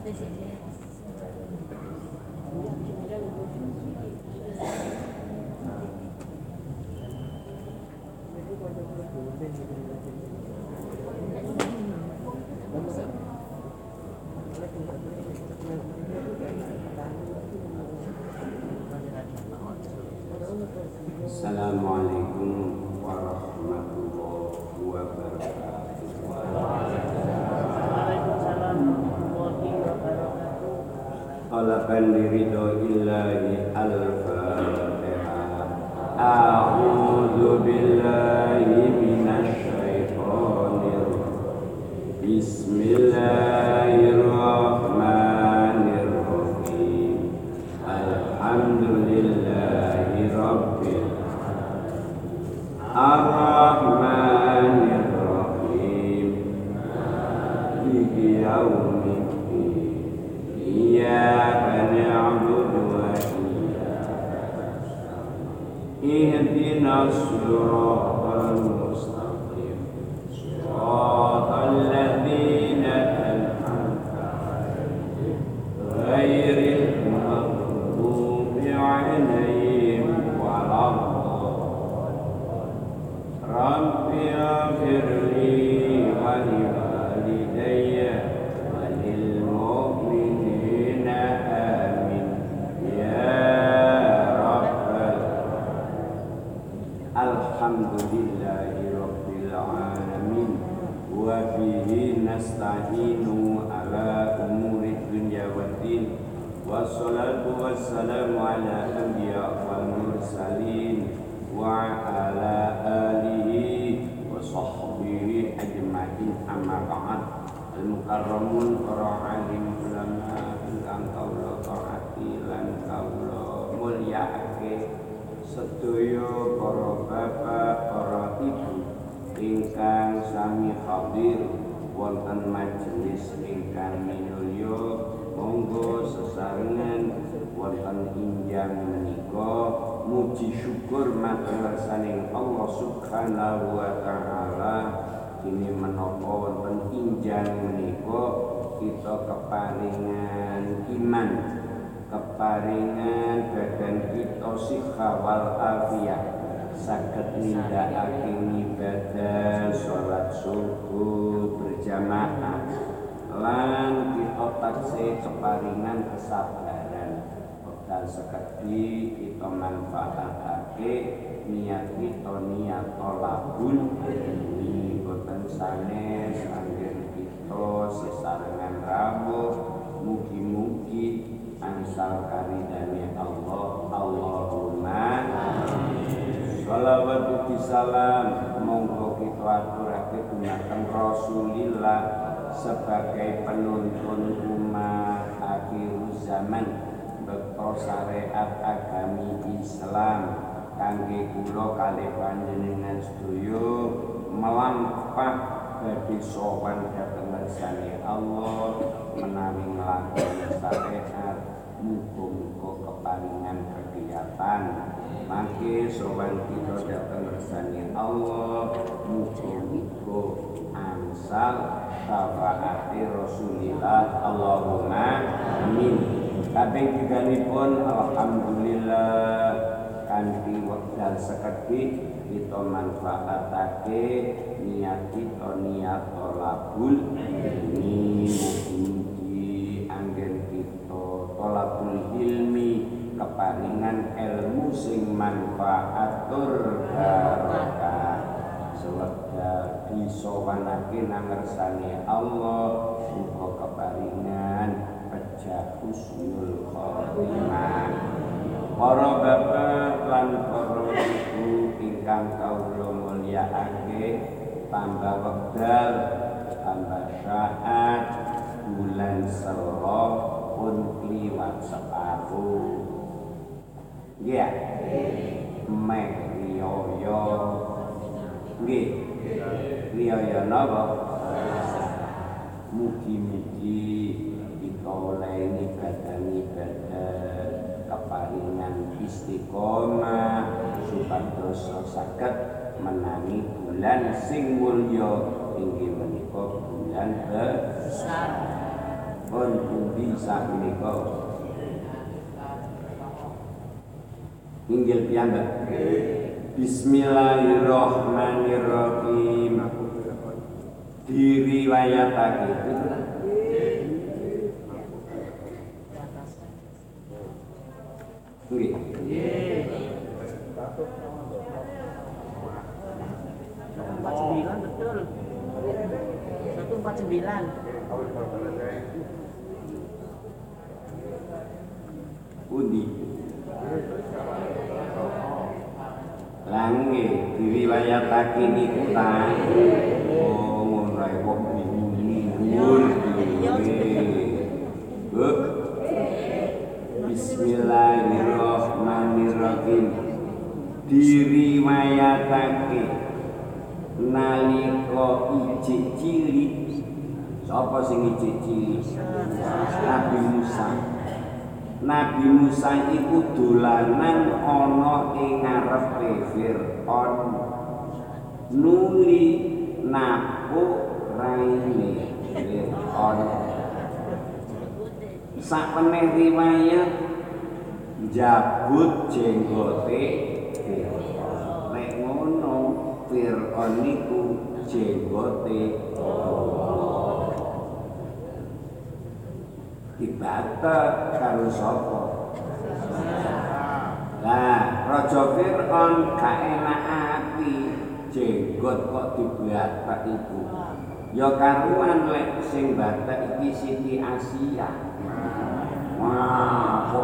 Assalamualaikum warahmatullahi wabarakatuh. Waalaikumsalam warahmatullahi wabarakatuh. Talaban liridhoillahi al-Fatihah. A'udzu billahi minasy syaithanir rajim. Bismillahirrahmanirrahim. Alhamdulillahi rabbil Ar-Rahmanir Rahim. Maliki yaumiddin. Iyyaka na'budu wa iyyaka nasta'in. Ihdinas siratal mustaqim. Shiratal ladzina an'amta 'alaihim ghairil maghdubi 'alaihim waladdallin. Rabbi ighfirli wa liwalidayya wa lil mu'minina amin ya rabbal alamin. Alhamdulillahi rabbil alamin wa bihi nasta'inu ala umuri dunya waddin. Wassalatu wassalamu ala anbiya wal mursalin wa ala alihi wa sahbihi ajma'in, amma ba'd. Al-mukarramun para alim ulama ingkang kawula taati lan kawula mulyakake, sedaya para bapak, para ibu ingkang sami hadir wonten majelis ingkang minulya, monggo sesarengan wonten injang menika muji syukur matur saning Allah Subhanahu wa taala. Kini menapa wonten injang menika kita keparingan iman, keparingan badan kita siha wal afiyah, saged nindakake ibadah salat subuh berjamaah, lan kita taksih keparingan kesabaran. Wekdal sekedhi kita manfaatake niat kita niat tolabul ilmi, boten sanes anggen kita sesarengan rawuh. Mugi-mugi angsal karidane Allah. Allahumma shalawat uti salam monggo kita aturake dumateng Rasulillah sebagai penuntun umat akhir zaman, bekto syariat agami Islam kangge kula kalih panjenengan sedaya melampah badhe sowan dhateng ngersane Allah menawi nglakoni syariat. Muga-muga keparingan kegiatan mangke sowan kita dhateng ngersane Allah. Muga-muga angsal syafaate Rasulillah. Allahumma amin. Kabeh tiganipun alhamdulillah kanthi wekdal sekedhik kita manfaatake niat kita niat tolabul ilmi. Mugi-mugi anggen kita tolabul ilmi keparingan ilmu sing manfaatur barokah. Sewekdal disowanake nang ngersane Allah, muga keparingan pejah husnul khotimah. Para bapak lan para ibu ingkang kawula mulyakake, tambah wekdal tambah saat bulan Sero pun kliwat separuh. Nggih. Mek riyaya. Nggih. Riyaya napa? Mugi-mugi kita oleh ibadah keparingan istiqomah supados saged menangi bulan sing mulya inggih menika bulan besar. Pun Nabi sakmenika. Inggil piyambak. Bismillahirrahmanirrahim. Diriwayatake nggih. 149 betul. 149. Pundi? Lange diriwayatake niku ta. Oh, ngono ae kok bingung. Bismillahirrahmanirrahim. Diriwayatake nalika ijik cilik. Sapa sing ijik cilik? Nabi Musa. Nabi Musa iku dolanan ana ing ngarepe Fir'aun. Nuli napuk raine Fir'aun. Sapeneh riwayat jabut jenggote Fir'aun. Nek ngono Fir'aun niku jenggote dibata karo sapa? Lah, Raja Fir'aun gak enak ati jenggot kok dibatak iku. Ya karuan lek sing batak iki Siti Asia. Wah, kok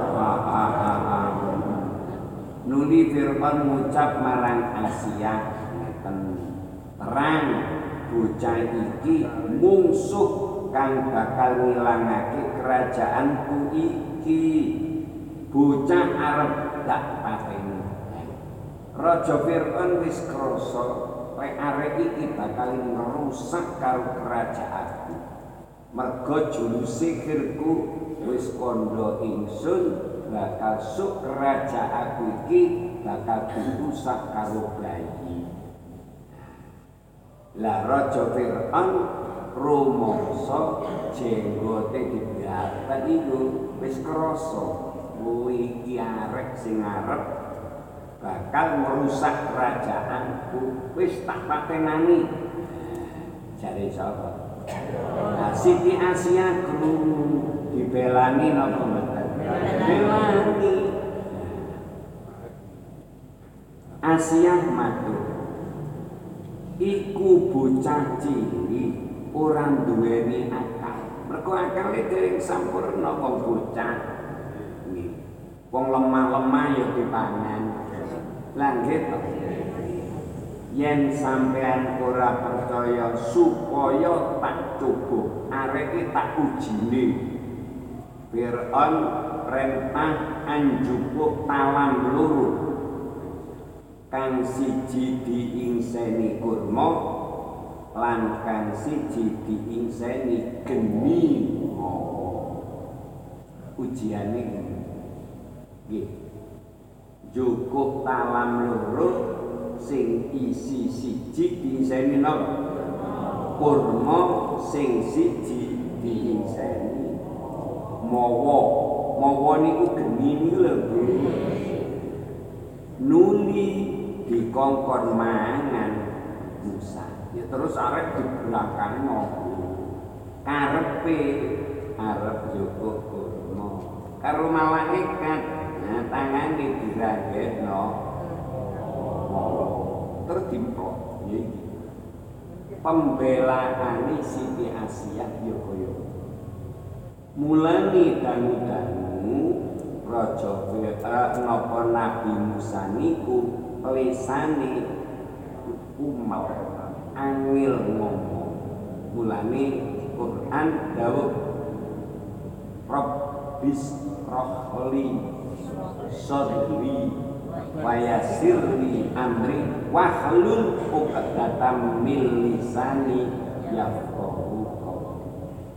nuli Fir'aun ngucap marang Asia ngeten, terang bocah iki mungsuh kang bakal ngilangake kerajaanku iki. Bocah arep dak pateni. Raja Fir'aun wis krasa lek arek iki bakal ngrusak karo kerajaanku. Merga juru sihirku wis kandha ingsun bakal suk kerajaanku iki bakal dirusak karo bayi. Lah Raja Fir'aun rumangsa jenggote dibatak iku wis krasa iki arek sing arep bakal merusak kerajaanku, wis tak patenani. Jare sapa? Nah, Siti Asia krungu dibelani napa mboten? Dibelani. Asia matur. Iku bocah cilik ora duweni akal. Mergo akale dereng sampurna wong bocah. Nggih. Wong lemah-lemah ya dipangan. Lah nggih to. Yen sampean ora percaya supaya tak coba, areke tak ujine. Fir'aun perintah anjupuk talam loro. Kang siji diingseni kurma lan kang siji diingseni geni. Ujiane nggih. Cukup talam loro sing isi siji diingseni napa? Kurma, sing siji diingseni mawa. Mawa niku geni niku lho. Nuli dikongkon mangan Musa. Ya terus arep dibelakangno. Karepe arep njogo kurma. Karo malaikat, nah tangane diragekno. Terus dimprok. Ya iki. Pembelaane Siti Asia ya kaya. Mulane dangu-dangu Raja Fir'aun napa Nabi Musa niku lisane umel angel ngomong. Mulane Quran dawuh Rabbis rohli sodri wa yassirli amri wahlul 'uqdatam min lisani yafqahu qawli.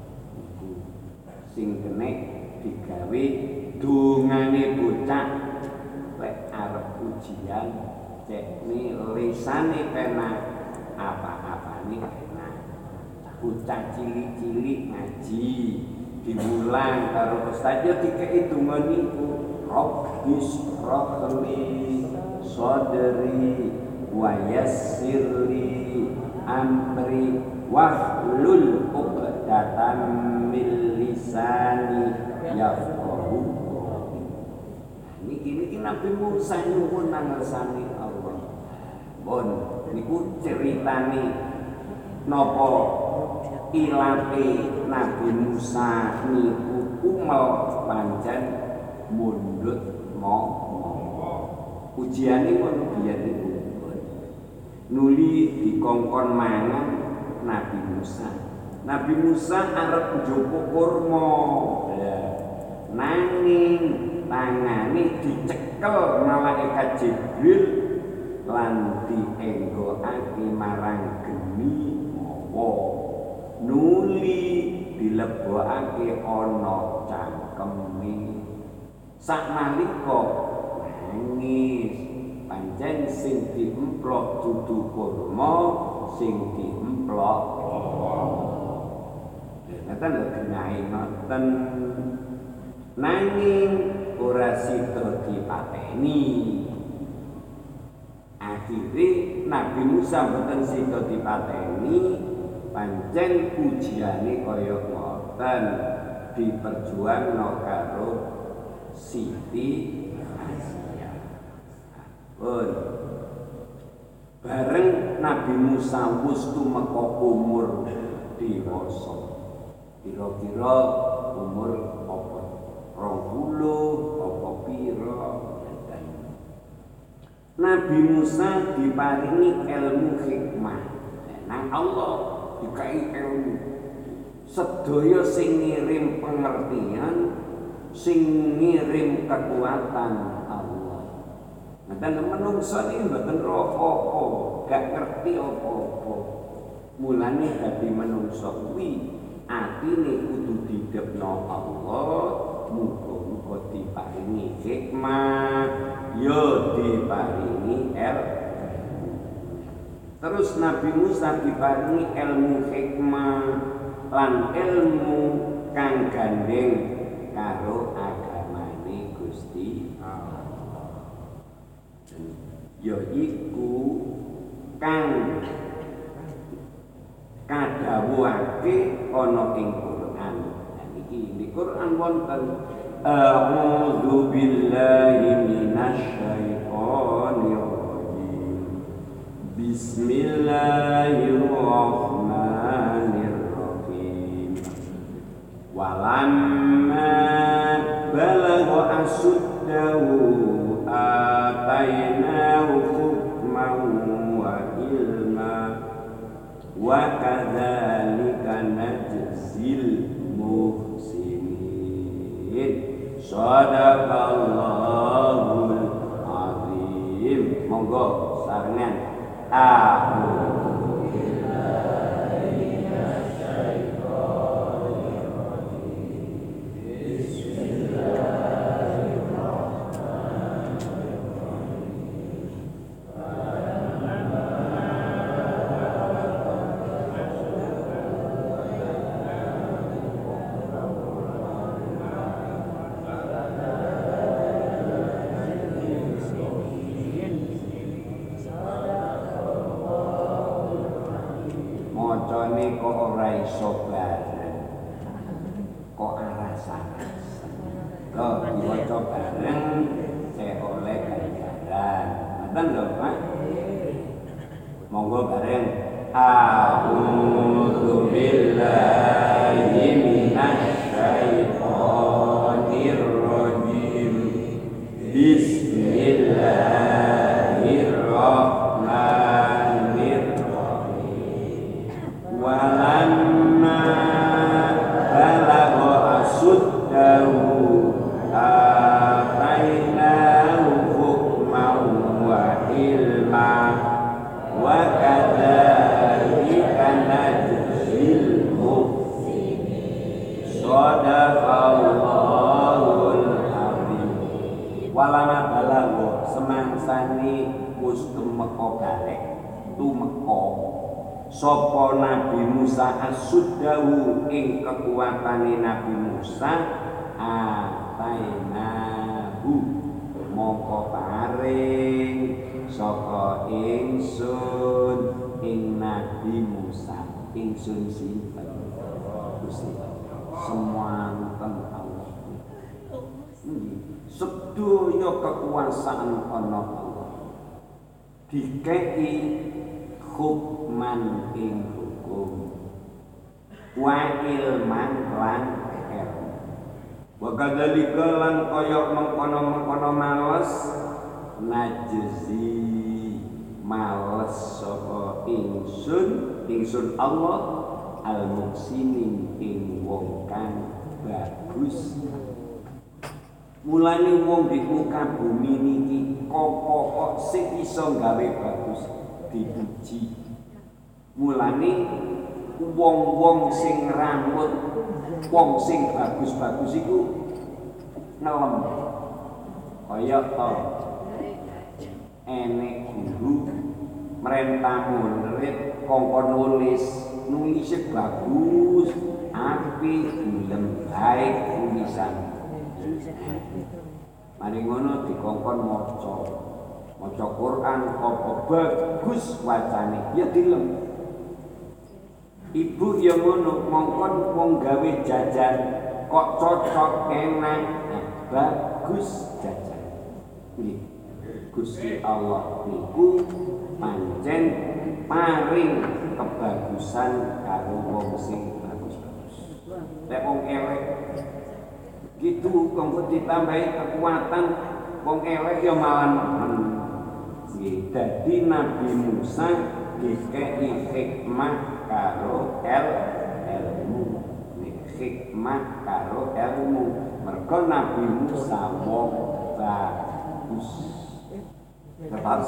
Sing kene digawe dungane bocah lek arep ujian cekne lisane penak apa-apane penak. Bocah cilik-cilik ngaji diulang karo ustaz yo dikeki donga niku Rabbis rohli sodri wa yassirli amri wahlul uqdatan min lisani yafqahu niki Nabi Musa nyuwun nang ngersani Allah. Pun niku ceritane napa ilate Nabi Musa niku umel pancen mundhut ngomong. Ujiane ngono biyen niku. Nuli dikongkon mangan Nabi Musa. Nabi Musa arep njupuk kurma. Nanging tangane dicekel malaikat Jibril lan dienggokake marang geni mawa. Nuli dilebokake ana cangkeme. Saknalika nangis pancen sing diemplok dudu kurma sing diemplok ngeten lho genahe ngoten nanging ora sida dipateni akhire Nabi Musa mboten sida dipateni pancen ujiane kaya ngoten diperjuangno karo Siti Asia. Bareng Nabi Musa wis tumeka umur dewasa. Kira-kira umur apa? 20 apa pira? Nabi Musa diparingi ilmu hikmah. Nang Allah dikai ilmu. Sedaya sing ngirim pengertian, sing ngirim kekuatan Allah. Ngeten menungso niki mboten apa-apa, gak ngerti apa-apa. Mulane dadi menungso kuwi atine kudu didhepno Allah, muga-muga diparingi hikmah, ya diparingi ilmu. Terus Nabi Musa diparingi ilmu hikmah lan ilmu kang gandeng karo agamane Gusti Allah. Yaiku kang kadhawuhake ana ing Quran. Niki di Quran wonten A'udzu billahi minasyaitonir rajim. Bismillahirrahmanirrahim. Walamma balagha asuddahu atainahu hukman wa ilma wa kadzalika najzil muhsinin. Shadaqallahul azim. Monggo sarengan a'udzu billahi minasyaitonir rajim. Mocone kok ora iso bareng, kok arasan-arasan. Loh, diwaca bareng saya oleh ganjaran. Ngoten lho, Pak. Monggo bareng. A'udzu billahi minasyaitonir rajim. Bismillahirrahmanirrahim. Walamma balagha asuddahu atainahu hukman wa ilma wa kadzalika najzil muhsinin. Shadaqallahul azim. Walamma balagha semangsane wis tumeka balik tumeka sapa Nabi Musa as-suddahu ing kekuatane Nabi Musa atainahu mongko paring saka ingsun ing Nabi Musa ingsun sinten Gusti semanten Allah sedaya kekuasaan ana Allah dikei hukman ing hukum wa ilman lan ilmu wa kadzalika lan kaya mengkono-mengkono males najzi males sapa ingsun Allah al muksinin ing wong kang bagus mulane wong di muka bumi niki kok sing iso gawe bagus dipuji mulane wong-wong sing rambut wong sing bagus-bagus iku ngelem kaya to enek guru merentah murid kongkon nulis bagus apik gelem baik tulisan mari ngono dikongkon maca Quran apa bagus wacane ya dilem ibu ya ngono mongkon wong gawe jajan kok cocok enak bagus jajan nggih Gusti Allah niku pancen paring kebagusan karo wong sing bagus-bagus lek wong elek gitu kanggo ditambahi kekuatan wong elek ya malah nggih dadi Nabi Musa dikei hikmah karo ilmu hikmah karo ilmu mergo Nabi Musa wong bagus terus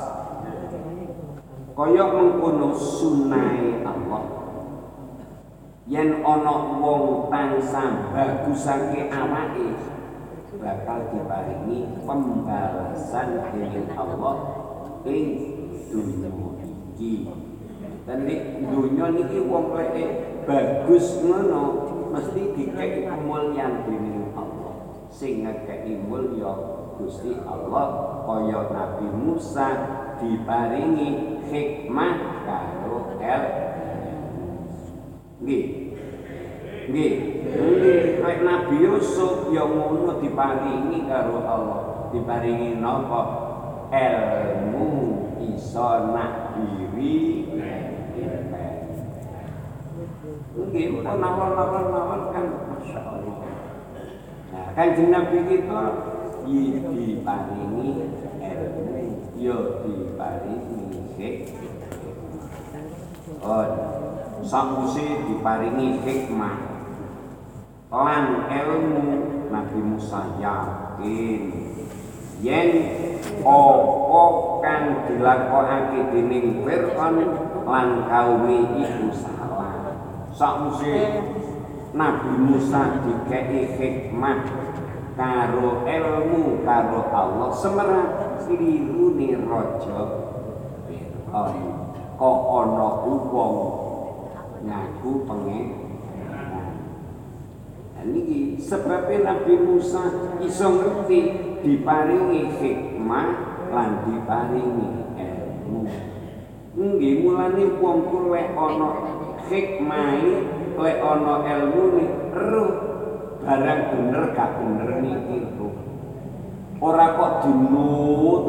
kaya mengkono sunai Allah yen ana wong tansah bagusake awake bakal diparingi pembalasan dening Allah ing dunya iki. Dan di dunya niki wong lek bagus ngono mesti dikei kamulyan dening Allah. Sing ngekei mulya Gusti Allah kaya Nabi Musa diparingi hikmah karo nggih lek Nabi Yusuf ya ngono diparingi karo Allah diparingi napa ilmu iso nakdiri nggih nawal kan masyaallah nah Kanjeng Nabi kita diparingi ilmu ya diparingi hikmah sakwise diparingi hikmah lan ilmu Nabi Musa yakin yen apa kang dilakokake dening Fir'aun lan kaume iku salah sakwise Nabi Musa dikei hikmah karo ilmu karo Allah semerah klirune raja Fir'aun kok ana wong ngaku pangeran. Niki sebabnya Nabi Musa iso ngerti diparingi hikmah lan diparingi ilmu. Nggih mulane wong ku lek ana hikmahe, lek ana ilmune, roh barang bener gak bener niki roh. Ora kok dinut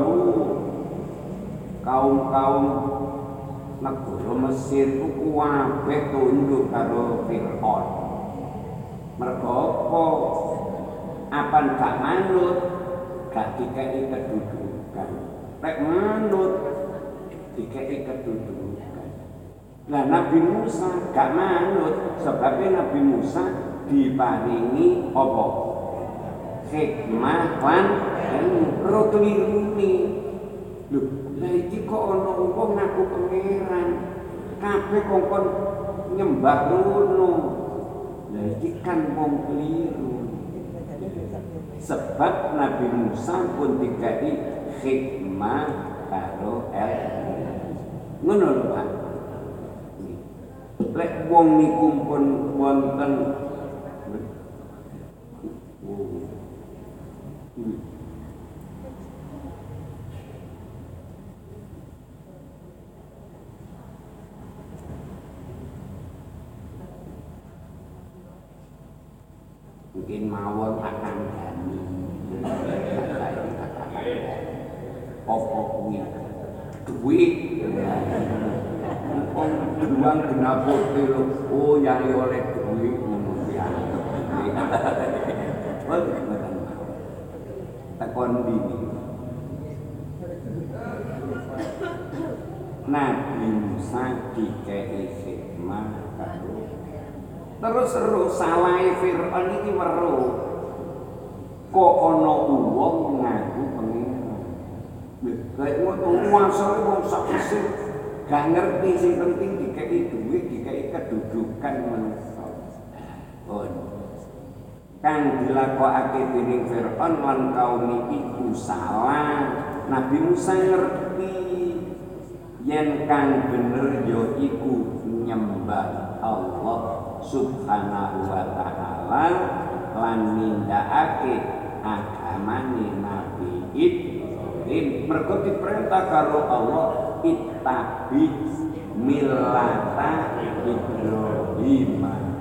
kaum-kaum negara Mesir ku kuwabeh tunduk karo Fir'aun. Mergo apa? Apan gak manut, gak dikei kedudukan. Lek manut, dikei kedudukan. Lah Nabi Musa gak manut, sebabnya Nabi Musa diparingi apa? Hikmah lan ilmu klirune. Lho, lah iki kok ana wong ngaku pangeran. Kabeh kongkon nyembah ngono. Lah iki kan wong keliru. Sebab Nabi Musa pun dikai hikmah karo ilmu. Ngono lho Pak. Lek wong niku pun wonten mungkin mawon akan gani apa kuwi duit uang genap putih lho oh yari oleh duit ngono ya takon dini Nabi Musa dikei hikmah terus salahe Fir'aun iki weruh kok ana wong ngaku pengiran lha ngono wasane wong sak Mesir gak ngerti sing penting dikei duit dikei kedudukan manusia kang dilakokake dening Fir'aun lan kaum iku salah Nabi Musa ngerti yen kang bener ya iku nyembah Allah Subhanahu wa ta'ala lan nindakake agamane Nabi Ibrahim mergo diperintah karo Allah ittabi millata Ibrahim.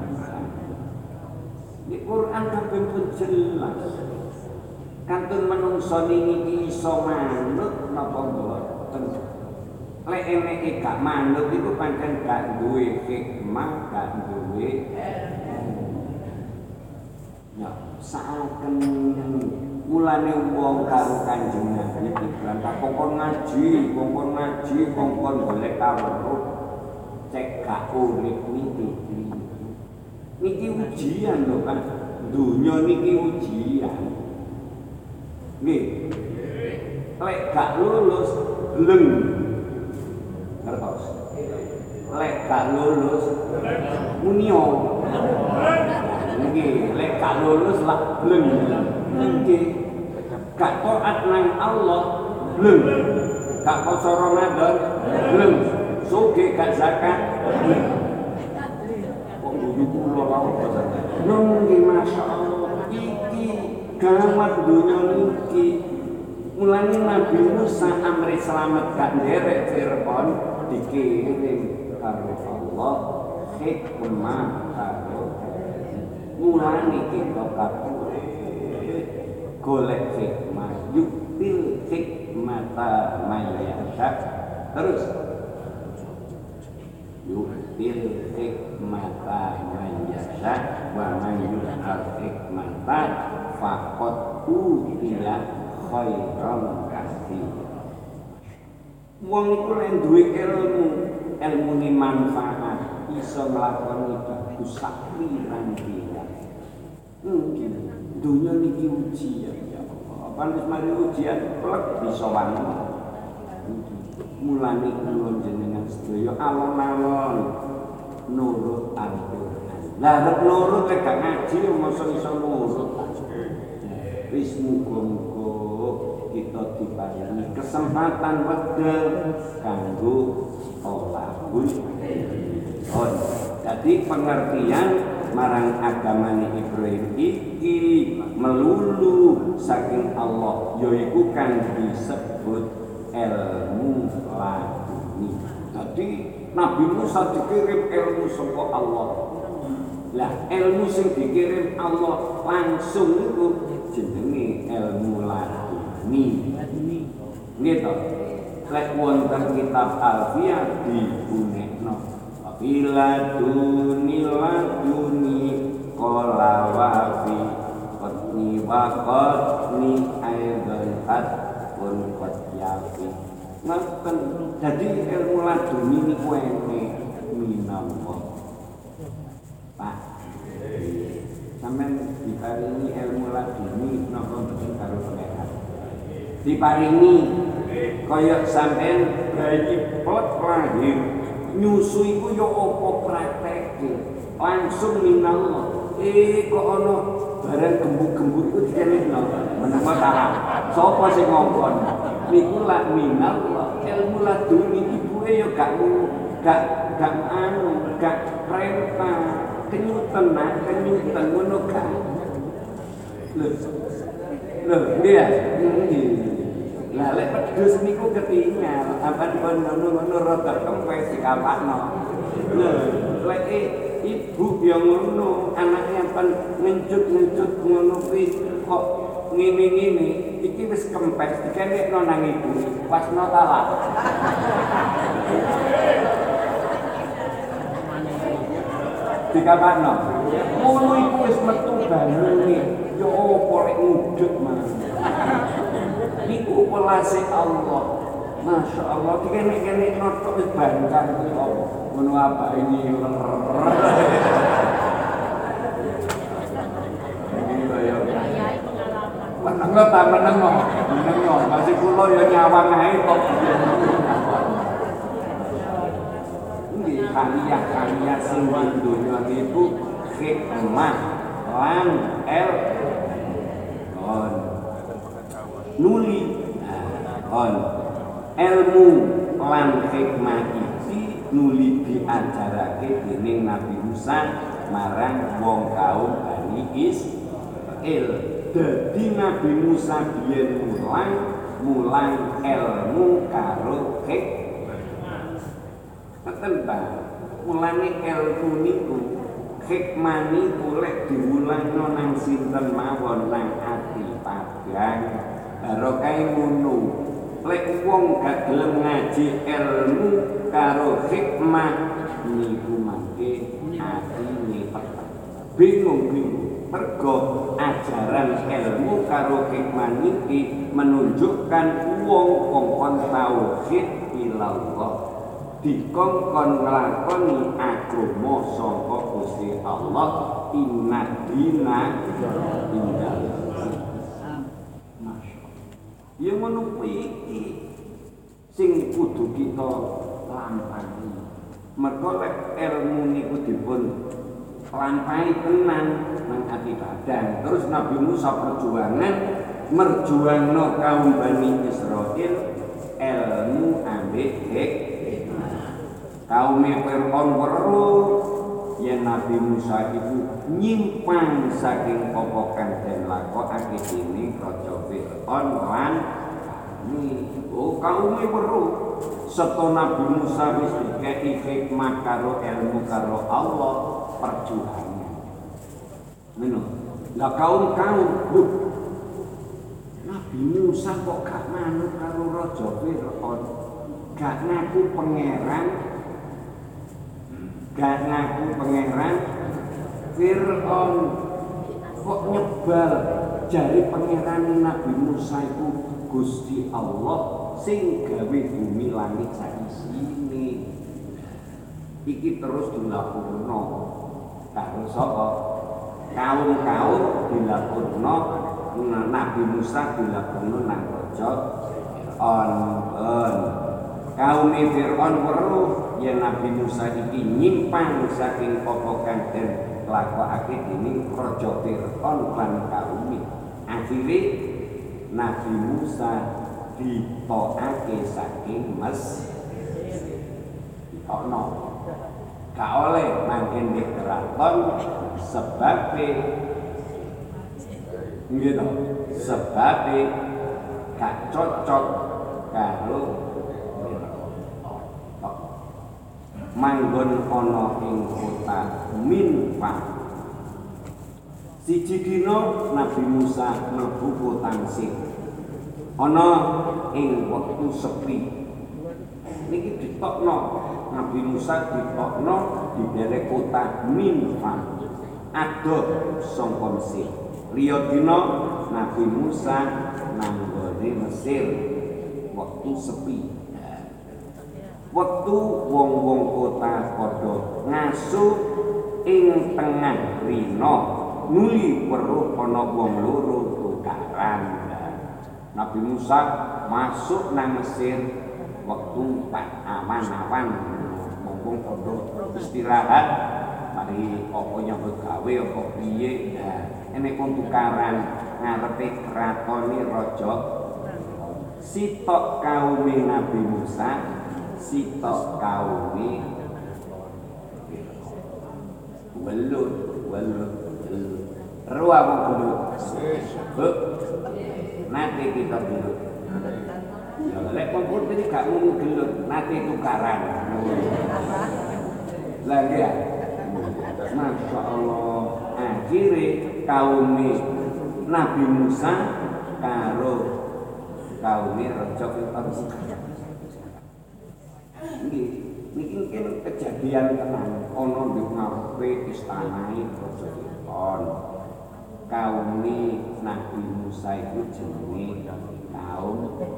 Di Quran kabeh pun jelas. Kantun menungso niki iso manut napa mboten. Lek eneke gak manut iku pancen gak duwe hikmah, gak duwe ya saken mulane wong karo Kanjeng Nabi diperintah kongkon ngaji, kongkon golek kawruh cek gak urip niki ujian lho Pak. Dunya niki ujian. Nggih. Lek gak lulus leng. Ngertos. Lek gak lulus munio. Nggih, lek gak lulus lah leng. Nggih. Gak taat nang Allah leng. Gak poso Ramadan leng. Sugih gak zakat leng. Nunggi Masya Allah iki gawat dunia niki mulanya Nabi Musa amri selamat gak nderek Fir'aun dikirim karo Allah hikmah karo mulanya kita kabeh golek hikmah yuktil hikmata mayyasha terus yuktil hikmata mayyasha wa man yu'tal hikmata faqad utiya khairan katsir. Wong iku lek duwe ilmune manfaat iso nglakoni bagus sak pirang-pirang. Mungkin dunya niki ujian ya Allah. Apa wis mari ujian plek bisa wani. Mulane kula jenengan sedaya alon-alon nurut Al-Qur'an. Lah nek nurut lek gak ngaji mosok iso nurut. Wis muga-muga kita diparingi kesempatan wekdal kanggo thalabul ilm. Jadi pengertian marang agamane Ibrahim iki melulu saking Allah yaiku kang disebut ilmu laduni. Jadi Nabi Musa dikirim ilmu saka Allah. Lah ilmu sing dikirim Allah langsung itu jenenge ilmu laduni. Gitu. Lek wonten kitab Alfiyah diunekno. Bila duni qala wa fi qatni wa qatni aidan pun qad yafi. Ngoten dadi ilmu laduni niku enek minangka Pak. Sampeyan diparingi ilmu laduni napa mboten karo pangeran. Diparingi kaya sampeyan bayi plek lahir nyusu iku ya apa prakteke langsung minallah. Kok ana barang gembuk-gembuk iku dikenekno menawa salah. Sapa sing ngongkon? Niku lak minallah ilmu laduni ibuke ya gak gak perintah kenyutan ngono gak. Lho, iya. Lah lek pedus niku ketinggal, apa ngono rada kempes dikapakno. Lho, lek ibu yang ngono, anaknya pan ngencut ngono kuwi kok ngene-ngene, iki wis kempes dikenekno nang ibu, wasno talak. Dikapakno. Ngono iku wis metu banyune. Yo opo lek ngudut mas. Niku welase Allah. Masya Allah, dikenek-kenek notok wis bangkang iki apa? Ngono apa ini? Meneng ta meneng masih kula ya nyawang ae kok. Nggih karya sing donya niku hikmah lan nuli ilmu lan hikmah iki nuli diajarake dening Nabi Musa marang wong kaum Bani Israil. Dadi Nabi Musa biyen mulang ilmu karo hikmah. Ngoten ta? Mulane ilmu niku hikmah niku lek diwulangno nang sinten mawon nang ati padhang barokah ngono. Lek wong gak gelem ngaji ilmu karo hikmah niku mangke atine peteng. Bingung mergo ajaran ilmu karo hikmah niki menunjukkan wong kongkon tauhid ilallah dikongkon nglakoni agama saka Gusti Allah inna dina indal. Ya ngono iki sing kudu kita lampahi. Mergo lek ilmu niku dipun lampahi tenan nang ati badan. Terus Nabi Musa perjuangan merjuangno kaum Bani Israil ilmu ambek hikmah. Kaum Fir'aun weruh yen Nabi Musa itu nyimpang saking pokokan dan lakokake dening raja Fir'aun lan kaum weruh seto Nabi Musa wis dikeki hikmah karo ilmu karo Allah perjuangan. Ngono. Lah kaum lho Nabi Musa kok gak manut karo raja Fir'aun, gak ngaku pangeran, Fir'aun kok nyebal jari pangeran Nabi Musa itu Gusti Allah sing gawe bumi langit saisine. Iki terus dilaporno karo sapa? Kaum-kaum dilaporno Nabi Musa dilaporno nang raja Fir'aun. Kaum Fir'aun weruh yen Nabi Musa iki nyimpang saking pokokan dan lakokake dening raja Fir'aun lan kaum. Akhire Nabi Musa ditokake saking ditokno. Gak oleh mangken di keraton sebabe gitu. Sebabe gak cocok karo manggon ana ing kota Minfah. Siji dina Nabi Musa mlebu kota Mesir. Ana ing wektu sepi. Niki ditokno Nabi Musa ditokno di daerah kota Minfah. Adoh saka Mesir. Liya dina Nabi Musa nang gone Mesir wektu sepi. Wektu wong-wong kota padha ngaso ing tengah rina nuli weruh ana wong loro tukaran. Nabi Musa masuk nang Mesir wektu awan-awan wong padha istirahat mari apa nyambut gawe apa piye. Enek wong tukaran ngarepe kratone raja. Sitok kaum Nabi Musa sitok kaum Welut. Ruah mau belut. Nanti kita belut. Ya lek kompor iki gak mung gelut, nanti tukaran. Lagi ya. Masya Allah. Akhirnya kaum Nabi Musa karo kaum Raja Fir'aun. Nggih, niki mungkin kejadian tenan ana di ngarepe istanae Raja Fir'aun. Kaum Nabi Musa itu jenenge kaum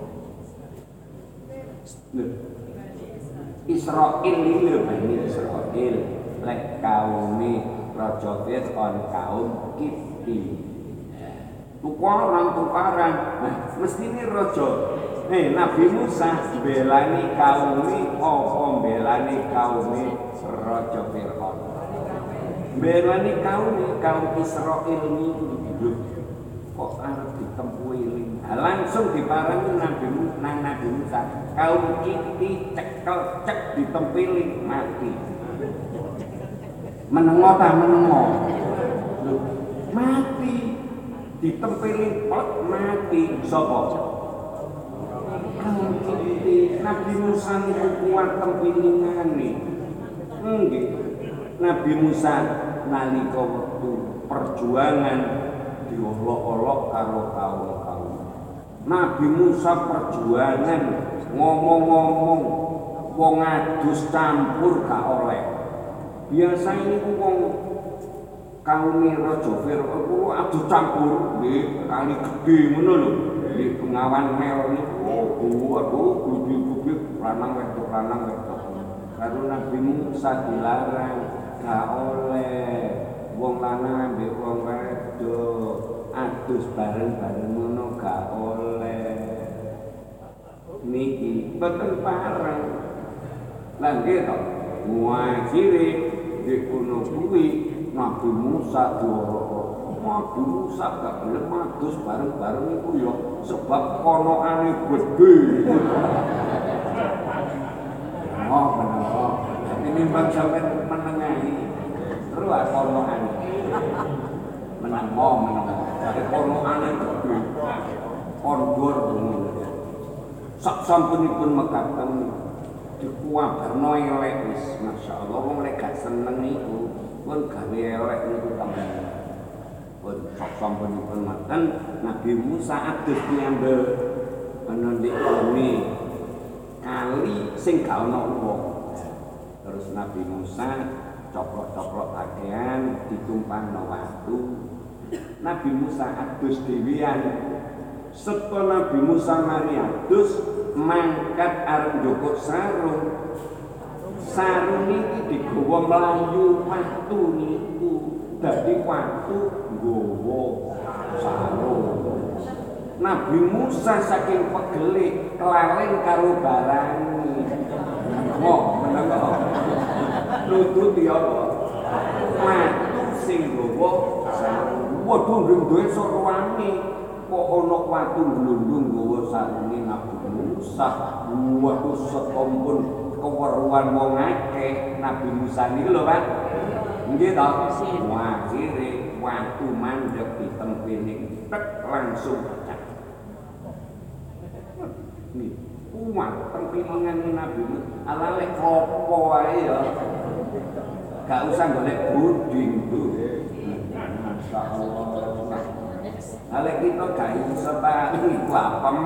Israil iki lho Bani Israil. Lek kaum Raja Fir'aun kaum Kipti. Tukaran. Nah, mesti ini Raja Nabi Musa belani kaum apa belani kaum Raja Fir'aun. Belani kaum Israil niku kok arep ditempuhi. Langsung diparangi Nabi Musa. Kaum Kipti cek ditempili mati. Menengo mati ditempeli pot mati sapa kaum Kipti. Nabi Musa niku kuat tempilingane nggih. Nabi Musa nalika wektu perjuangan diolok-olok karo kaum. Nabi Musa perjuangan ngomong-ngomong wong adus campur gak oleh. Biasa ini wong kaum Raja Fir'aun kuwi adus campur nggih kali gedhe ngono lho. Di Bengawan Mel niku gudi-gudi lanang wedok. Karo Nabi Musa dilarang gak oleh wong lanang ambek wong wedok adus bareng-bareng ngono gak oleh. Niki boten pareng. Lah nggih to. Akhire di kono kuwi Nabi Musa diorok. Nabi Musa gak gelem adus bareng-bareng iku ya sebab konokane gedhe. Bener. Ini bang sampai menengahi terus konokane. Menengo. Jadi konokane gedhe. Kondur ngono. Sak sampunipun mekaten dikuwabarno elek wis masyaallah wong lek gak seneng niku pun gawe elek niku tambah. Pun sak sampunipun mekaten Nabi Musa adus nyambel ana ndek kali sing gak ana wong. Terus Nabi Musa coplok-coplok pakaian ditumpahno watu. Nabi Musa adus dhewean. Setelah Nabi Musa mari adus mangkat arep njokok sarung iki digawa mlayu watu niku dadi watu nggawa sarung. Nabi Musa saking pegele kelalen karo barang menengo nututi apa watu sing nggawa sarung. Waduh ndek sorwane kok ana watu glundung nggawa sarunge Nabi Musa. Waduh setompun keweruhan wong akeh Nabi Musa niki lho Pak. Nggih to. Akhire watu mandheg ditempeli tek langsung pecah. Nih, kuat tempilingane Nabi Musa. Ala lek apa wae ya. Gak usah golek buding tuh. Masyaallah. Kalau kita gak iso Pak, iku apem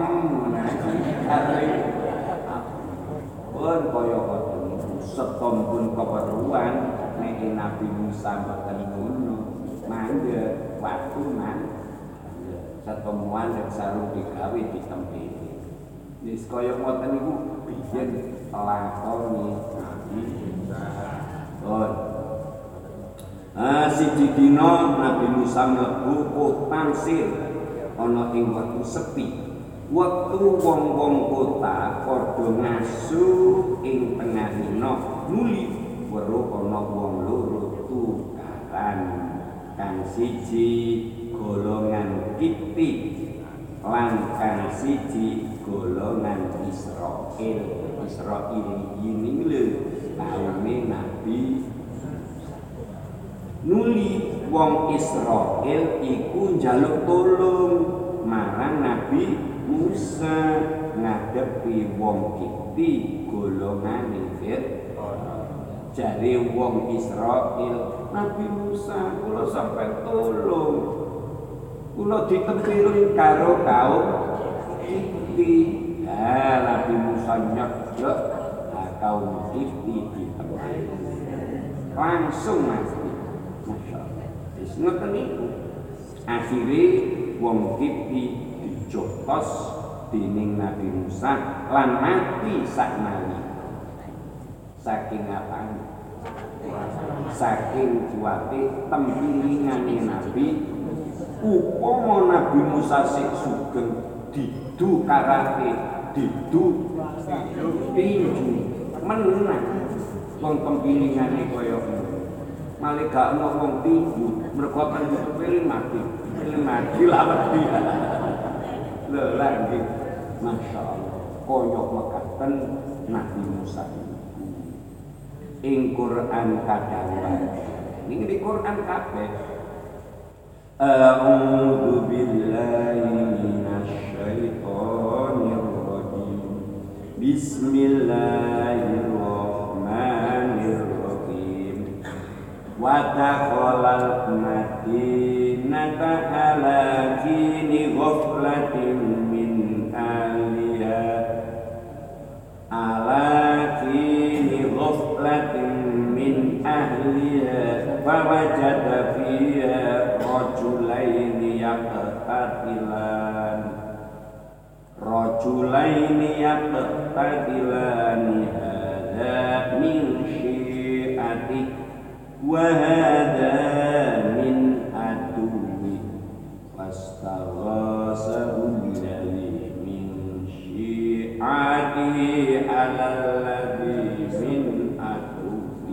pun kaya ngoten setompun keperluan nek Nabi Musa mboten ngono. Mangga waktu setemuan dan sarung digawe ditempeli. Wis kaya ngoten niku biyen lakoni Nabi Musa. Siji dina Nabi Musa mlebu kota Mesir ana ing wektu sepi. Wektu wong-wong kota padha ngasu ing tengah dina nuli weruh ana wong loro tukaran. Kang siji golongan Kipti lan kang siji golongan Israil. Israil ini lho kaume Nabi nuli wong Israil iku njaluk tulung marang Nabi Musa ngadepi wong Kipti golongane Fir'aun. Jare wong Israil, Nabi Musa kula sampai tulung, kula ditempiri karo kaum Kipti. Nabi Musa nyek kaum Kipti ditempiri langsung mati. Masya Allah. Wis ngoten niku. Akhire wong Kipti dijotos dening Nabi Musa lan mati saknali. Saking apane? Saking kuwate tempilingane Nabi. Upama Nabi Musa sik sugeng didu karate, didu tinju menang. Wong tempilingane kaya ngono. Malah gak ono wong tinju, mergo kan dipilih mati. Pilih mati lawan dia. Lho lagi. Masya Allah. Koyok mekaten Nabi Musa. Ing Quran kadawuhan ning di Quran kabeh a'udzu billahi minasyaitonir rajim bismillahirrahmanirrahim wa taqalal madinata ala kini ghaflatin min aliha ala kini ghaflatin min ahliha fawajada fiha rajulaini yaqtatilani hadha min syi'ati wa hadha min aduwi fastaghasahu alladhi min syi'ati ala alladhi min aduwi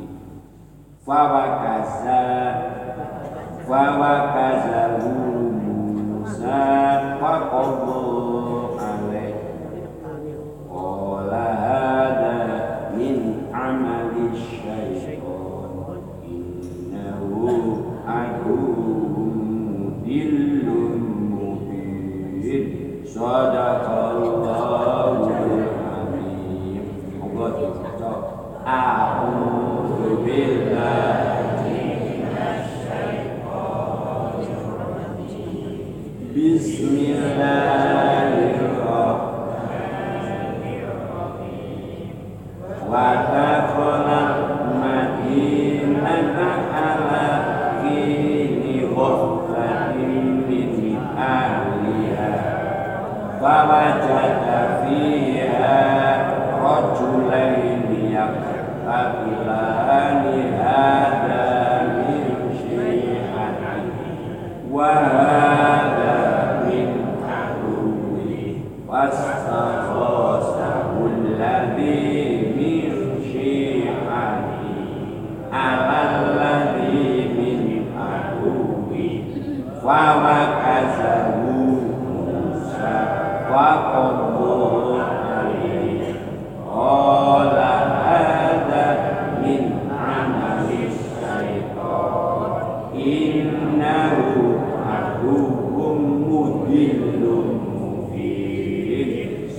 fawakazahu Musa faqadha alaihi qala hadha min amali syaitan innahu aduwwun mudillun mubin sadaqallahul azim. Allah dibaca a'udzu billahi minasyaitonir rajim bismillahirrahmanirrahim wa taqalal madinata ala kini ghaflatin min ahliha fawajada fiha rajulaini yaqtatilani hadha min syi'atihi wa hadha min aduwwihi fastaghasahu alladhi min syi'atihi ala alladhi min aduwwihi fawakazahu Musa faqadha alaihi qala hadha min amali syaitan innahu aduwwun mudillun mubin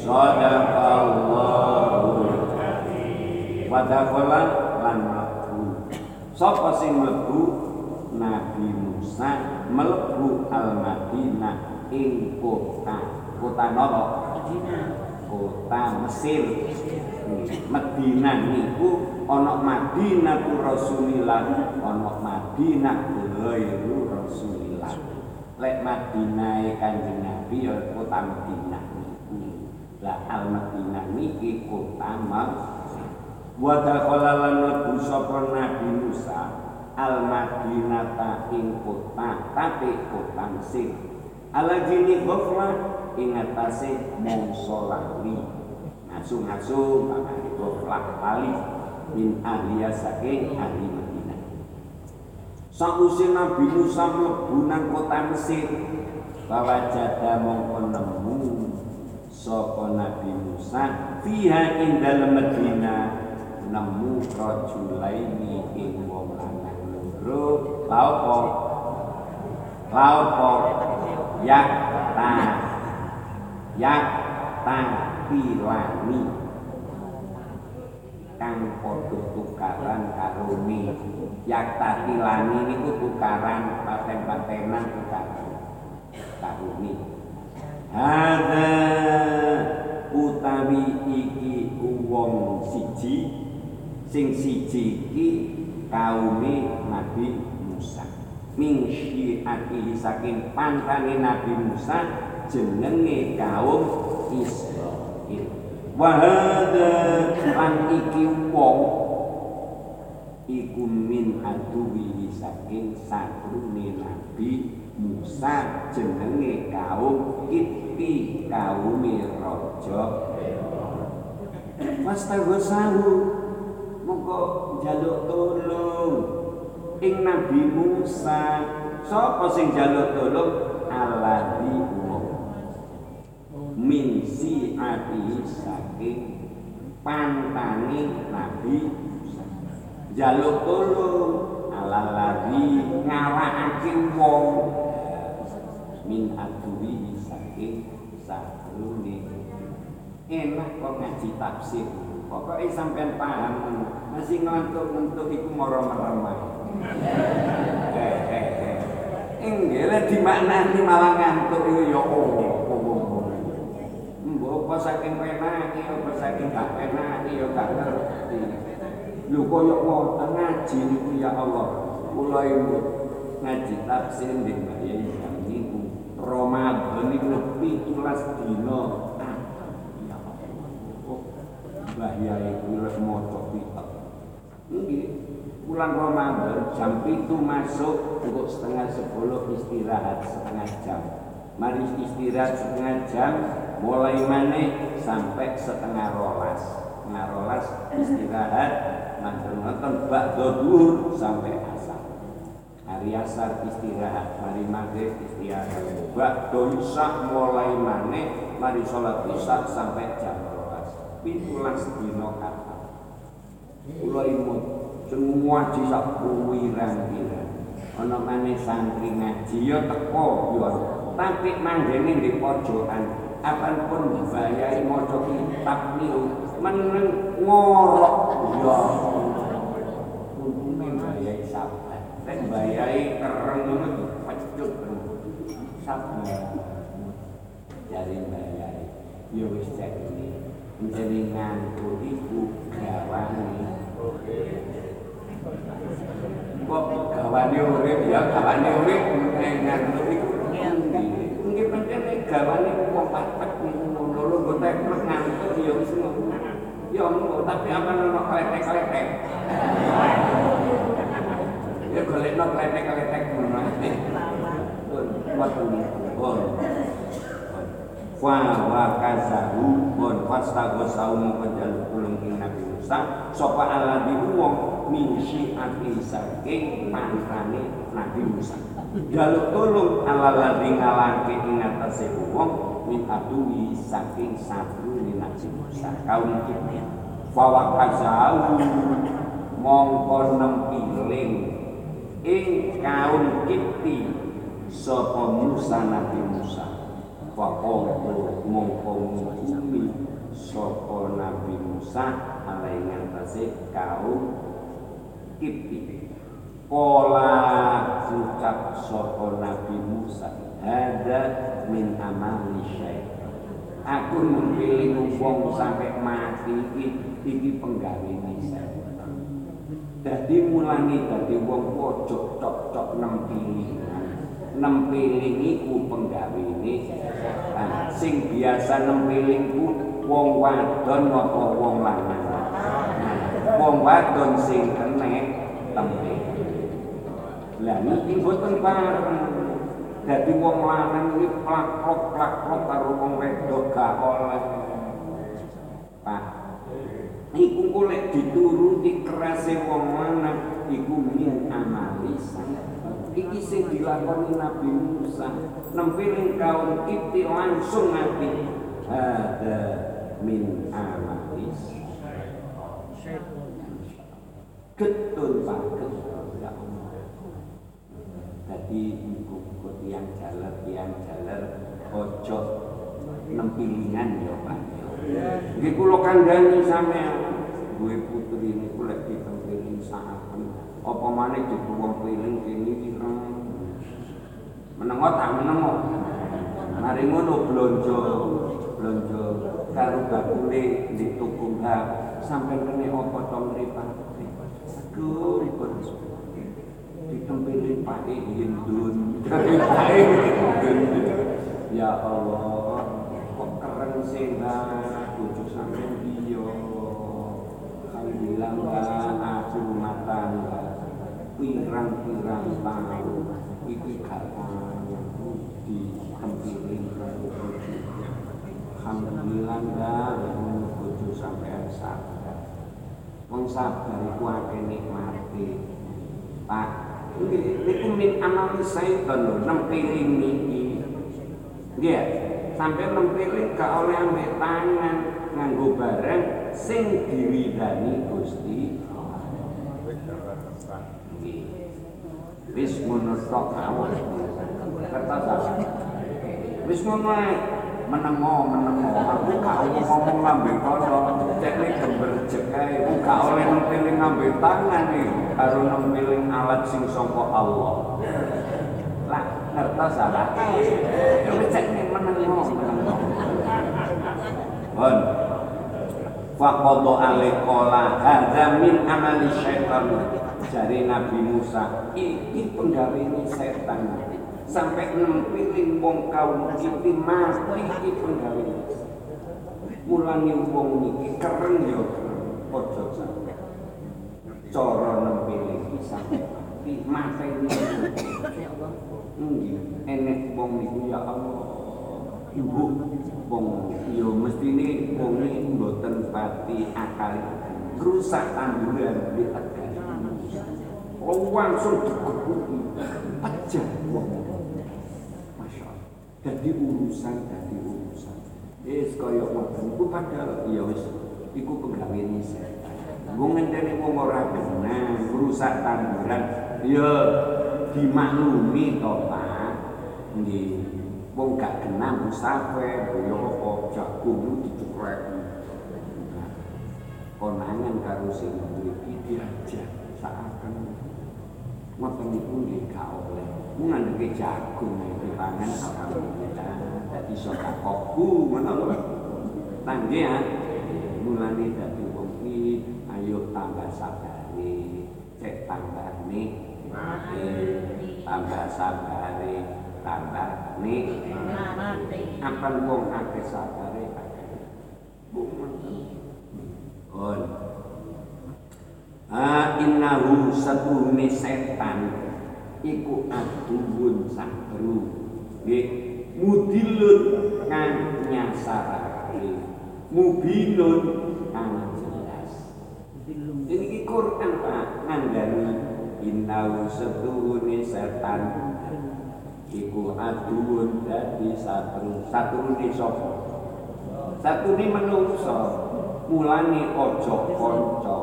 sadaqallahul azim. Wadakhala lan mlebu sapa sing mlebu Nabi Musa mlebu Al-Madinah ing kota napa? Kota Mesir. Madinah niku ana Madinatur Rasulillah, ana Madinah ghairu Rasulillah. Lek Madinah Kanjeng Nabi ya kota Madinah niku. Lah Al-Madinah niki kota Mesir. Wa dakhala lan mlebu sapa Nabi Musa Al-Madinata ing kota tapi kota Mesir. Alagini ghaflah ing atase mangsa lali. Ngasu-ngasu pamane ghaflah lali min ahliya saking ahli Madinah. Sakwise Nabi Musa mlebu nang kota Mesir, wajada mongko nemu sapa Nabi Musa fiha ing dalem Madinah nemu rajulaini ing wong lanang loro huruf laupo yak ta pilani kang padha tukaran karo mi yak ta pilani niku tukaran paten-patenan tukaran karo mi hadza utawi iki wong siji sing siji iki kaume Nabi Musa min syi'atihi saking pantane Nabi Musa jenenge kaum Israil wa hadza lan iki wong iku min aduwi saking satrune Nabi Musa jenenge kaum Kipti kaume raja Wastaghosahu mongko njaluk tulung ing Nabi Musa. Sapa sing njaluk tulung? Alladzi min si'ati saking pantane Nabi Musa. Njaluk tulung alladzi ngawakake wong min aduwi saking satrune. Enak kok ngaji tafsir. Pokoknya sampean paham, masih ngelantuk-ngelantuk itu moro-meremah. Enggak dimaknani malah ngantuk itu ya mbok apa saking penake apa saking gak penake ya gak ngerti. Lho koyo ngoten ngaji niku ya Allah. Kula iku ngaji tafsir nggih Mbak Yai niku Ramadan niku 17 dina. Bahaya itu maca kitab. Nggih, bulan Ramadan jam 7 masuk untuk setengah 10 istirahat setengah jam. Mari istirahat setengah jam, mulai maneh sampai setengah rolas. Setengah rolas istirahat, nonton ba'da zuhur sampai asar. Hari asar istirahat, mari maghrib istirahat. Ba'da isya mulai maneh, mari sholat isya sampai jam 17 dina kata. Kula imut semua jisak kuwiran-wiran. Ana maneh santri ngaji ya teko ya, tapi manggene di pojokan. Apapun dibayari maca kitab niku meneng ngorok ya. Untunge bayai sabar. Nek bayai kereng ngono dipecut. Sabar. Jadi bayai ya wis cek ini. Menjadi ngantuk iku gawane. Kok gawane urip ya gawane urip ngantuk iku nggih pancen gawane wong patek ngono lho nggo teklek ngantuk ya wis ngono. Ya ngono tapi apa ono kletek-kletek. Ya golekno kletek-kletek ngono. Pun wa kazahu bon fastaghosahu menjaluk tulung ing Nabi Musa sapa alladzi wong min syi'ati saking pantane Nabi Musa jaluk tulung alladzi ngalake ing atase wong min aduwi saking satrune Nabi Musa kaum Kipti wa kazahu mongko nempiling ing kaum Kipti sapa Musa Nabi Musa Wakodo mongko ngukumi sapa Nabi Musa alai ngatasi kaum Kipti. Kola ucap sapa Nabi Musa ada min amali syaitan. Aku memilih wong sampai mati iki penggawene syaitan. Dadi mulane dadi wong pojok cocok nempiling. Nempiling iku penggawene setan. Sing biasa nempiling ku wong wadon apa wong lanang. Wong wadon sing kenek tempiling. Lah niki mboten pareng. Dadi wong lanang iki plak-plok karo wong wedok gak oleh. Pak. Iku golek dituruti kerase wong lanang iku min amali iki sing dilakoni Nabi Musa nempiling kaum Kipti langsung mati ada min amalis getun paket ya Allah Dadi muga-muga tiyang jaler ojo nempilingan ya Pak. Nggih kula kandhani sampeyan duwe putri niku lek ditempiling saaken apa maneh dibuwong piling kene ireng. Menengo tak menengo. Mari ngono blonjo karo bakule di tuku sampai kene apa to mripate. Aduh ribet. Ditempelin Pak Hindun. Ya Allah, kok keren sih bojo sampeyan iya. Alhamdulillah aku rumah tangga. Pirang-pirang tahun iki gak ditempelin karo bojo. Alhamdulillah bojo sampeyan sabar. Wong sabar iku akeh nikmate. Pak, niku min amal syaitan lho, nempiling niki. Nggih, sampai nempiling gak oleh ambek tangan nganggo barang sing diwidani Gusti. Nggih. Wis ngono tok awak. Kertas. Wis ngono ae. Menengo aku gak ngomong ngambil kono teknik gemberjek ae gak oleh nempiling ngambil tangan nih karo nempiling alat sing saka Allah lah ngertos salah ya wis teknik menengo bon faqadha alaiqala hadza min amali syaitan jari Nabi Musa iki penggawene setan sampai nempiling wong kaum iki mati iki penggawe. Mulane wong iki keren ya aja sampe. Cara nempiling iki sampe mati ya Allah. Nggih, enek wong niku ya Allah. Ibu wong ya mestine wong iki mboten pati akal. Rusak tanduran di tegal. Langsung dikukuki. Pecah wong. Jadi urusan wis kaya ngoten iku padahal ya wis iku penggawene setan. Wong ngenteni wong ora genah rusak tanduran ya dimaklumi to Pak. Nggih. Wong gak genah musafir ya apa jagung dicukrek. Konangan karo sing duwe iki diajak saaken ngoten niku nggih gak oleh. Mung ngandeke jagung dipangan alhamdulillah dadi sedekahku ngono lho. Nggih ya. Mulane dadi wong iki ayo tambah sabare, cek tambah nikmate, tambah sabare, tambah nikmate. Apan wong akeh sabare akeh. Bon. Innahu satune setan iku aduun sakru nggih mudilun kang nyasarake mubinun kang jelas iki Quran Pak ngandani innahu satune setan iku aduun dadi satrune sapa satrune menungso mulane aja kanca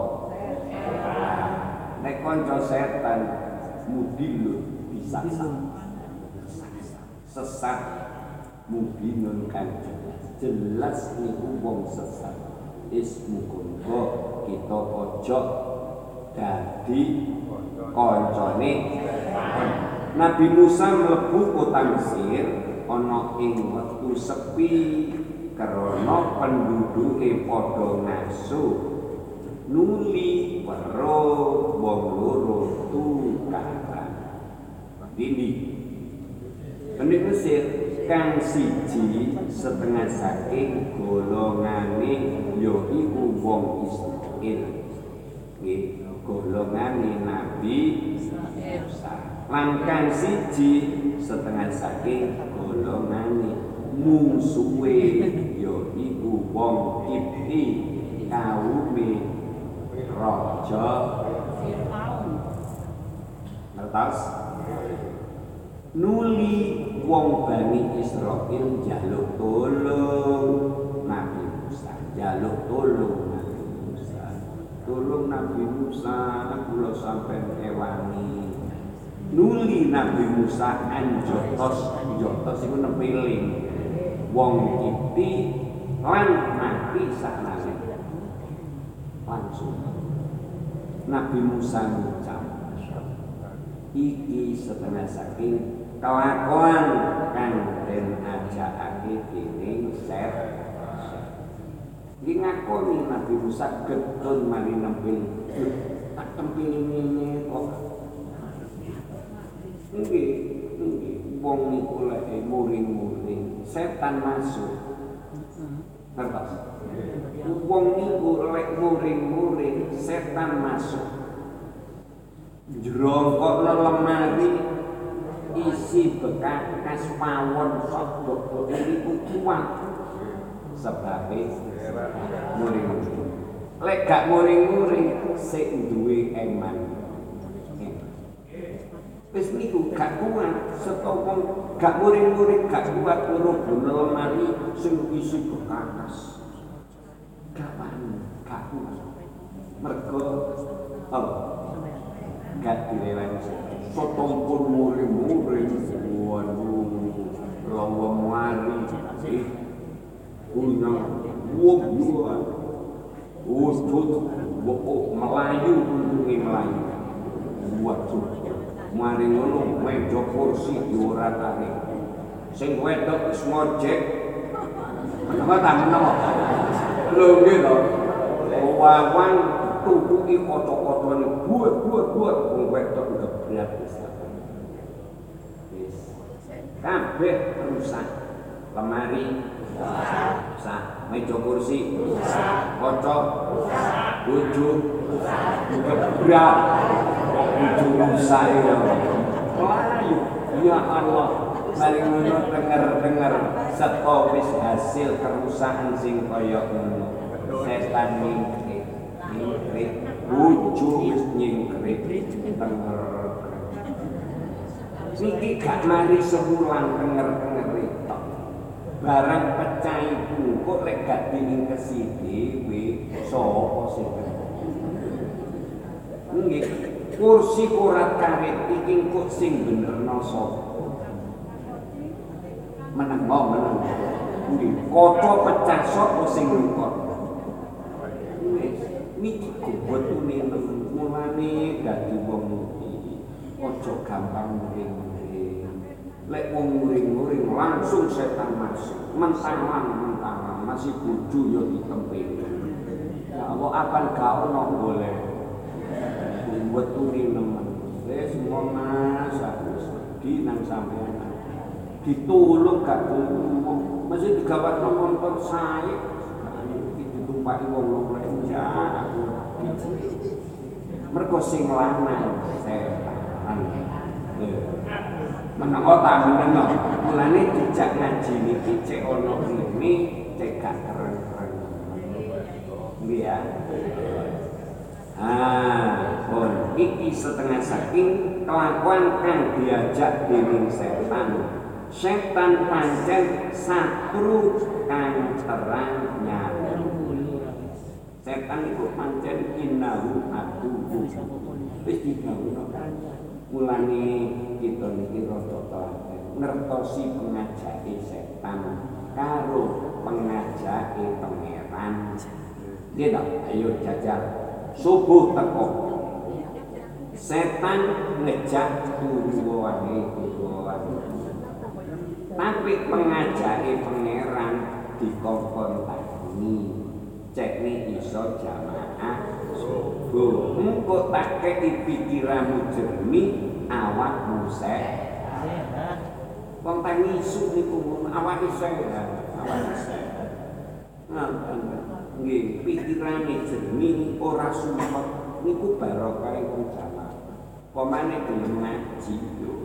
nek kanca setan mudilun bisa sesat mubinun kan jelas niku wong sesat ismu kungo kita ojo dadi kancane Nabi Musa mlebu kota Mesir ana ing wektu sepi karena penduduke padha ngaso nuli weruh wong loro tukaran ini Bani Mesir kang siji setengah saking golongane ya iku wong Israil nggih golongane Nabi Musa lan kang siji setengah saking golongane musuhe ya iku wong Kipti kaume Raja Fir'aun. Ngertos? Nuli wong Bani Israil njaluk tolong Nabi Musa, njaluk tolong Nabi Musa. Tolong Nabi Musa, kula sampeyan ewani. nuli Nabi Musa anjotos iku nempiling wong iki lan mati saknane langsung Nabi Musa ngucap iki setengah saking kelakuan kang den ajakake dening Set. Iki ngakoni Nabi Musa getun mari nempil tak tempil ngene kok. Nggih, wong niku lek muring-muring setan masuk. Ngertos? Wong niku lek muring-muring setan masuk. Jrongkokno lemari isi bekas pawon sok dok niku kuat sebabe muring-muring. Lek gak muring-muring sik duwe eman. Wis niku gak kuat setopong gak muring-muring gak kuat ngrobono lemari sing isi bekas. Gak wani, gak kuat. Mergo gak direlani setopong muring-muring waduh lawa mari punya wong wujud melayu untungnya melayu waduh mari ngono meja kursi dioratake sing wedok wis ngojek menawa ta menawa lho nggih to wawang tukuki kocok-kocokane buat wong wedok gebrak wis kabeh rusak lemari rusak meja kursi kocok bojo gebrak bojo rusak ya Allah mari ngono denger saka wis hasil kerusakan sing kaya ngono setan nyingkrik bojo wis nyingkrik denger niki gak mari sebulan denger tok barang pecah iku kok lek gak diingkesi dhewe sapa sing nggih kursi kurat karet iki kok sing benerno sapa meneng nggih kaca pecah sapa sing ngkon niki kubetune mulane dadi wong iki aja gampang muring-muring lek wong muring-muring langsung setan masuk mentang masih bojo ya ditempel ya Allah akan gak ono boleh wetune nemen wis monas harus di nang sampean ditulung gak tulung mesti digawakno motor sae ditumpaki wong lek ya aku mergo sing lanang setan menawa tak meneng mulane dijak ngaji niki cek ana rene cek gak keren-keren nggih ya pun iki setengah saking kelakuan kang diajak dening setan pancen satru kang terang nyata setan iku pancen innahu aduwwun wis digawuno mulane kita niki rada telaten ngertosi pengajake setan karo pengajake pangeran gitu ayo jajal subuh teko setan ngejak tujuane tapi pengajake pangeran dikongkon tani cekne iso jamaah subuh engko tak kei pikiranmu jernih awakmu sehat wong tangi isu niku awake sehat nggih pikirane jernih ora sumpek niku barokah wong jamaah pemane gelem ngaji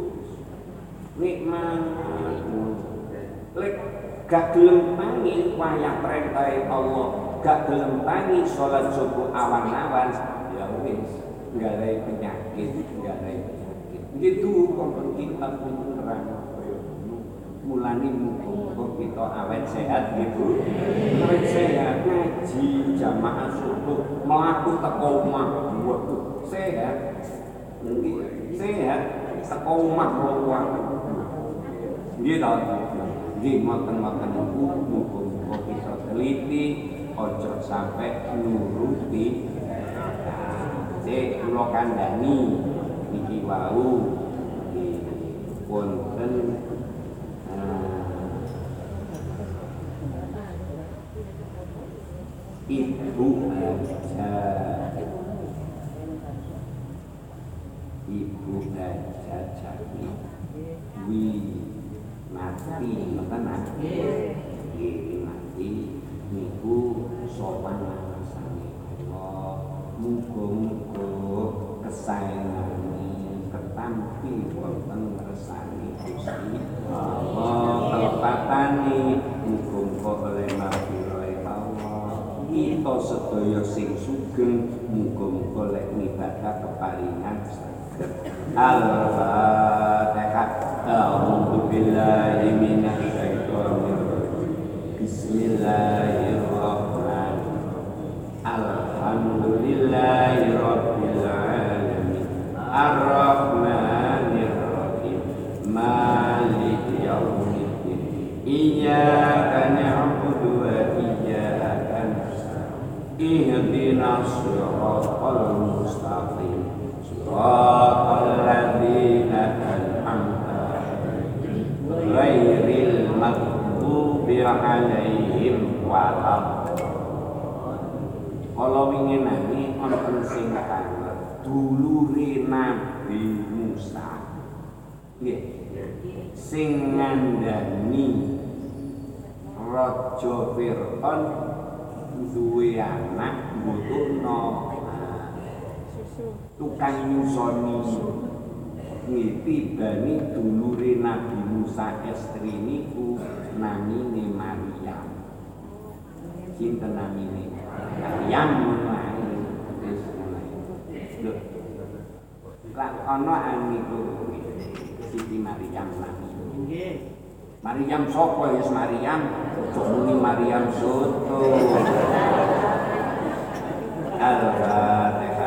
nikmat lek gak gelem tangi wayah perintah Allah gak gelem tangi salat subuh awan-awan ya wis nggare penyakit gitu kok kitab nerang mulane muga kita awet sehat gitu awet sehat ngaji jamaah subuh mlaku teko omah waduh sehat sehat teko omah ruang. Nggih to. Nggih ngoten-ngoten niku muga-muga kita teliti aja sampai nuruti. Cek kula kandhani niki wau wonten ibu aja jadi wi mati ngoten mati niku sowan ngasane Allah muga-muga kesaenane ketampi wonten ngersani Gusti Allah kelepatane muga-muga oleh mafirahe Allah kita sedaya sing sugeng muga-muga lek ngibadah keparingan Al-Fatihah. A'udzu billahi minasy syaithanir rajim. Bismillahirrahmanirrahim. Alhamdulillahi rabbil alamin. Ar-Rahmanir Rahim. Maliki yaumiddin. Iyyaka na'budu wa iyyaka nasta'in. Ihdinas siratal mustaqim. Siratal ladzina an'amta 'alaihim ghairil maghdubi 'alaihim waladdallin. Kala wingi nami wonten sing kangen dulure Nabi Musa. Nggih. Sing ngandani Raja Fir'aun duwe anak mbutuhna tukang nyusoni tibane dulure Nabi Musa estri niku namine Maryam. Sinten namine? Maryam wis lho. Lah ana niku Siti Maryam namine. Nggih. Maryam sapa ya Maryam? Aja muni Maryam soto. Al-Fatihah.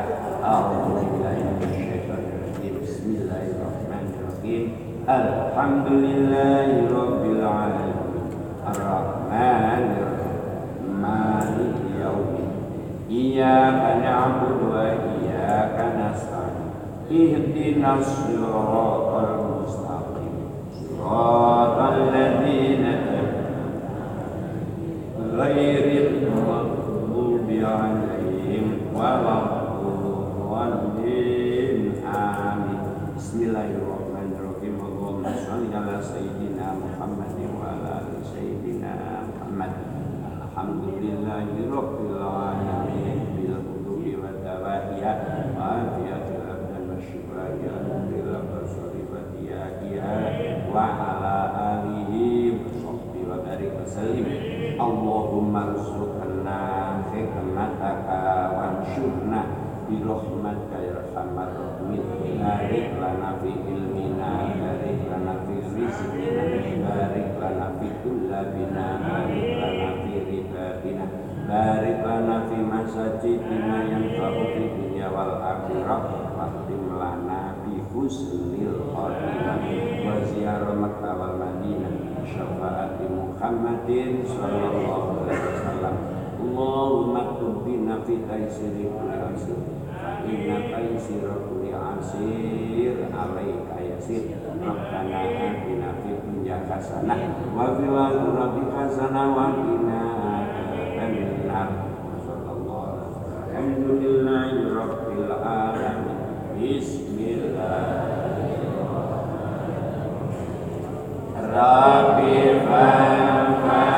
Bismillahirrahmanirrahim. Alhamdulillahi rabbil alamin. Ar-Rahmanir Rahim. Maliki yaumiddin. Iyyaka na'budu wa iyyaka nasta'in. Ihdinas siratal mustaqim. Siratal ladzina ghairil maghdubi 'alaihim waladdallin. Amin. Bismillahirrahmanirrahim. Allahumma shalli ala sayyidina Muhammadin wa ala ali sayyidina Muhammad. Alhamdulillahi rabbil alamin bil qulubi wa dawaiya wa afiyatil abdan wa syifaiya alhamdulillah wa sholibatiya wa ala alihi wa sahbihi wa barik wa sallim. Allahumma rzuqna hikmataka wanshurna birahmatika ya arhamar rahimin. Barik lana fi ilmina, barik lana fi rizqina, barik lana fi kullabina, barik lana fi ribabina, barik lana fi masajidina yanfa'u fi dunya wal akhirah. Waqtim lana bi husnil khatimah wa ziyarah Makkah wal Madinah syafaati Muhammadin sallallahu alaihi wasallam. Allahumma tubbina fi taysiri kulli asir, inna taysira kulli asir alaika yasir. Rabbana atina fid dunya hasanah wa fil akhirati hasanah wa qina adzabannar. Sallallahu alaihi wasallam. Alhamdulillahi rabbil alamin. Bismillahirrahmanirrahim. Rabbi